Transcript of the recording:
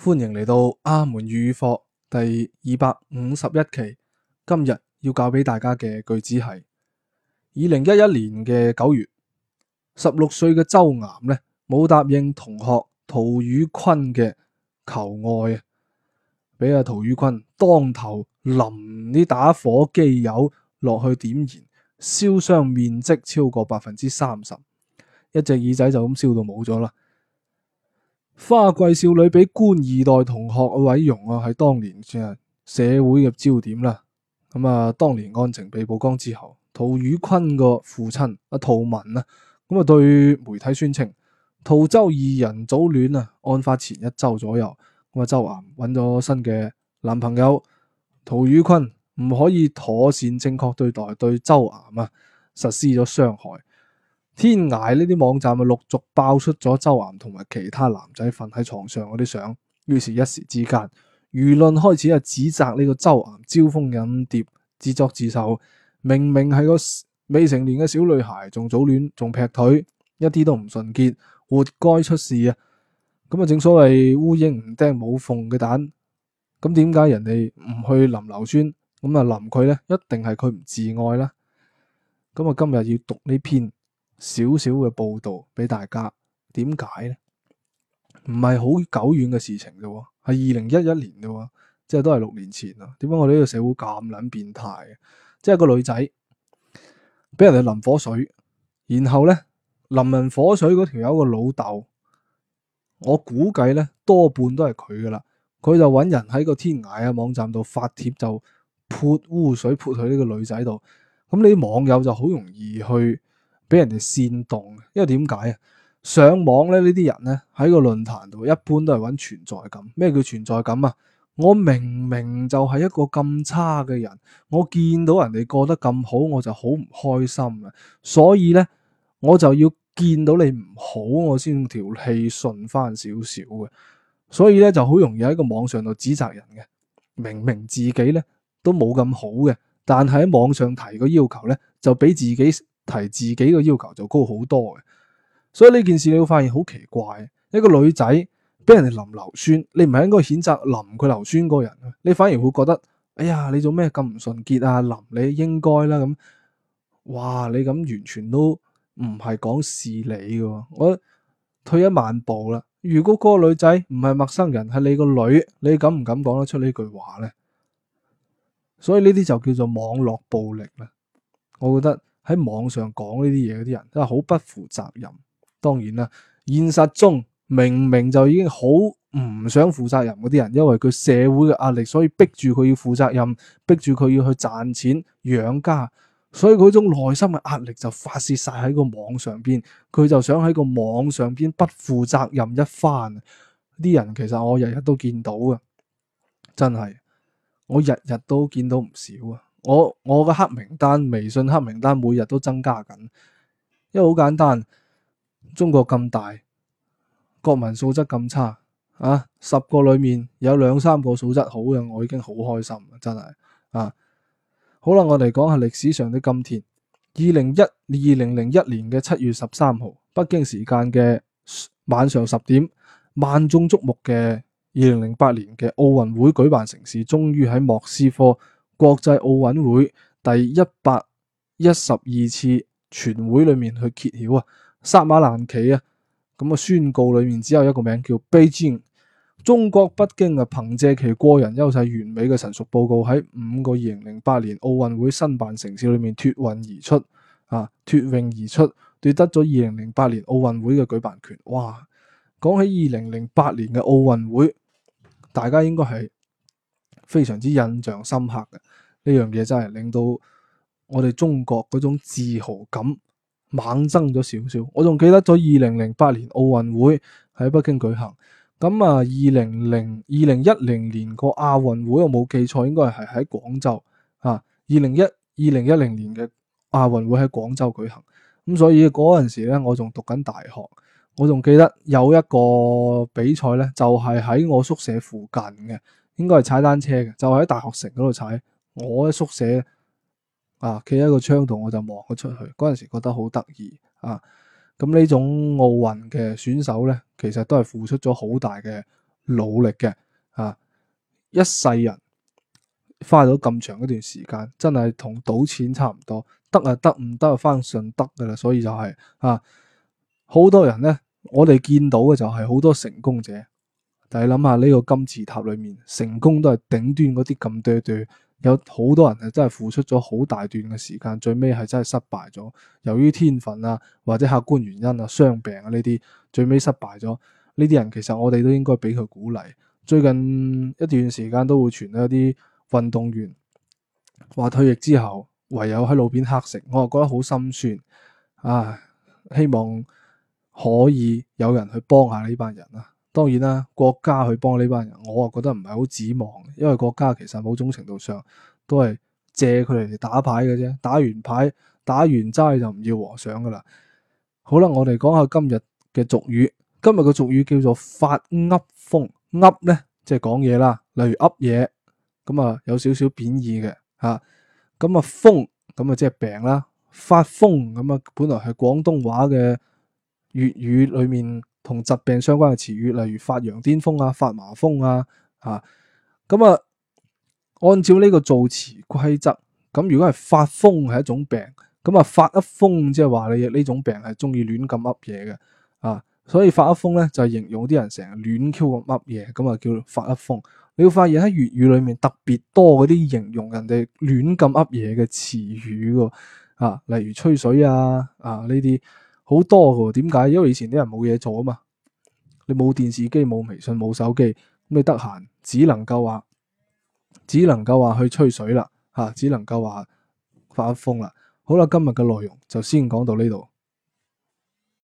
歡迎嚟到阿門粵語課第251期。今日要教俾大家嘅句子係2011年嘅9月，16歲嘅周岩呢冇答應同學陶宇坤嘅求愛啊，俾阿陶宇坤當頭淋啲打火機油落去點燃，燒傷面積超過30%，一隻耳仔就咁燒到冇咗啦。花季少女俾官二代同學毀容啊，係當年嘅社會嘅焦點啦。當年案情被曝光之後，陶宇坤個父親阿陶文啊，對媒體宣稱陶周二人早戀啊。案發前1周左右，周岩揾咗新嘅男朋友，陶宇坤唔可以妥善正確對待，對周岩啊實施咗傷害。天涯呢啲網站啊，陸續爆出咗周岩同埋其他男仔瞓喺床上嗰啲相，於是一時之間，輿論開始指責呢個周岩招蜂引蝶、自作自受。明明係個未成年嘅小女孩，仲早戀，仲劈腿，一啲都唔純潔，活該出事啊！正所謂烏蠅唔叮冇縫嘅蛋，咁點解人哋唔去淋硫酸，淋佢呢？一定係佢唔自愛啦。今日要讀呢篇少少嘅報道俾大家，點解呢？唔係好久遠嘅事情啫，係2011年啫，即係都係6年前啦。點解我哋呢個社會咁撚變態嘅？即係個女仔俾人哋淋火水，然後呢，淋人火水嗰條友個老豆，我估計呢多半都係佢噶啦。佢就揾人喺個天涯啊網站度發帖，就潑污水潑去呢個女仔度。咁呢啲網友就好容易去俾人哋煽動，因為點解啊？上網咧，呢啲人咧喺個論壇度一般都係揾存在感。咩叫存在感啊？我明明就係一個咁差嘅人，我見到人哋過得咁好，我就好唔開心啊！所以咧，我就要見到你唔好，我先條氣順翻少少嘅。所以咧就好容易喺個網上度指責人嘅。明明自己咧都冇咁好嘅，但係喺網上提個要求咧，就比自己提自己嘅要求就高好多嘅。所以呢件事你會發現好奇怪，一個女仔俾人哋淋硫酸，你唔係應該譴責淋佢硫酸嗰個人，你反而會覺得，哎呀，你做咩咁唔純潔啊？淋你應該啦咁。哇，你咁完全都唔係講事理嘅。我退一萬步啦，如果嗰個女仔唔係陌生人，係你個女，你敢唔敢講得出呢句話呢？所以呢啲就叫做網絡暴力啦。我覺得喺網上講呢啲嘢嗰啲人真係好不負責任。當然啦，現實中明明就已經好唔想負責任嗰啲人，因為佢社會嘅壓力，所以逼住佢要負責任，逼住佢要去賺錢養家，所以嗰種內心嘅壓力就發洩晒喺個網上邊，佢就想喺個網上邊不負責任一番。啲人其實我日日都見到嘅，真係我日日都見到唔少啊！我嘅黑名單，微信黑名單每日都增加緊，因為好簡單。中國咁大，國民素質咁差啊！10個裏面有2-3個素質好嘅，我已經好開心啦，真係啊！好啦，我哋講下歷史上的今天。2001年嘅7月13號，北京時間嘅晚上10點，萬眾矚目嘅2008年嘅奧運會舉辦城市，終於喺莫斯科國際奧委會第112次全會裏面去揭曉啊！薩馬蘭旗啊，宣告裏面只有一個名叫北京。中國北京啊，憑借其個人優勢、完美嘅陳述報告，喺5個2008年奧運會申辦城市裏面脫穎而出，奪得咗2008年奧運會嘅舉辦權。哇！講起2008年嘅奧運會，大家應該係非常之印象深刻嘅。呢樣嘢真係令到我哋中國嗰種自豪感猛增咗少少。我仲記得咗2008年奧運會喺北京舉行。2010年個亞運會我冇記錯，應該係喺廣州啊。2010年嘅亞運會喺廣州舉行。所以嗰陣時咧，我仲讀緊大學。我仲記得有一個比賽咧，就係喺我宿舍附近嘅，應該係踩單車嘅，就喺大學城嗰度踩。我喺宿舍企喺個窗度，我就望咗出去。嗰陣時覺得好得意啊！咁呢種奧運嘅選手咧，其實都係付出咗好大嘅努力嘅啊，一世人花咗咁長一段時間，真係同賭錢差唔多，得啊得，唔得就翻順德噶啦。所以就係好多人呢，我哋見到嘅就係好多成功者，但係諗下呢個金字塔裏面，成功都係頂端嗰啲咁多多，有好多人係真係付出咗好大段嘅時間，最尾係真係失敗咗。由於天分啊，或者客觀原因啊、傷病啊呢啲，最尾失敗咗。呢啲人其實我哋都應該俾佢鼓勵。最近一段時間都會傳到一啲運動員話退役之後唯有喺路邊乞食，我就覺得好心酸啊！希望可以有人去幫下呢班人啊。當然啦，國家去幫呢班人，我啊覺得唔係好指望，因為國家其實某種程度上都係借佢哋嚟打牌嘅啫，打完牌打完齋就唔要和尚噶啦。好啦，我哋講下今日嘅俗語。今日嘅俗語叫做發噏風，噏咧即係講嘢啦，例如噏嘢，咁啊有少少貶義嘅吓。咁啊風咁啊即係病啦，發瘋咁啊本來係廣東話嘅粵語裏面同疾病相關嘅詞語，例如發羊癲瘋啊、發麻風啊，咁啊按照呢個造詞規則，咁如果係發瘋係一種病，咁啊發噏風即係話你呢種病係中意亂咁噏嘢嘅啊。所以發噏風咧就係形容啲人成日亂 Q 咁噏嘢，咁啊叫發噏風。你會發現喺粵語裏面特別多嗰啲形容人哋亂咁噏嘢嘅詞語喎，例如吹水啊呢啲好多嘅。點解？因為以前啲人冇嘢做啊嘛，你冇電視機、冇微信、冇手機，咁你得閒只能夠話去吹水啦，只能夠話發噏風啦。好啦，今日嘅內容就先講到呢度。